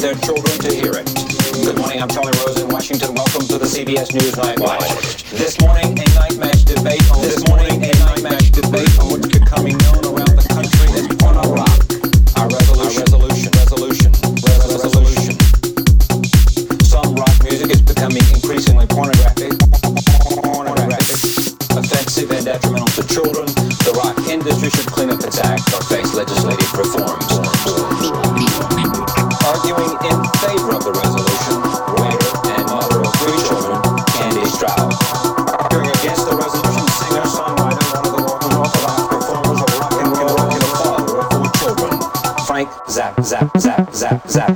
their children to hear it. Good morning, I'm Charlie Rose in Washington. Welcome to the CBS News Night Watch. This morning, a night match debate on what's becoming known around the country as Porno Rock. Our resolution. Some rock music is becoming increasingly pornographic, offensive and detrimental to children. The rock industry should clean up its act or face legislative reforms. Arguing in favor of the resolution, writer and mother of 3 children, Candy Stroud. Arguing against the resolution, singer-songwriter, one of the more unorthodox performers of rock and roll, and a father of 4 children, Frank Zappa.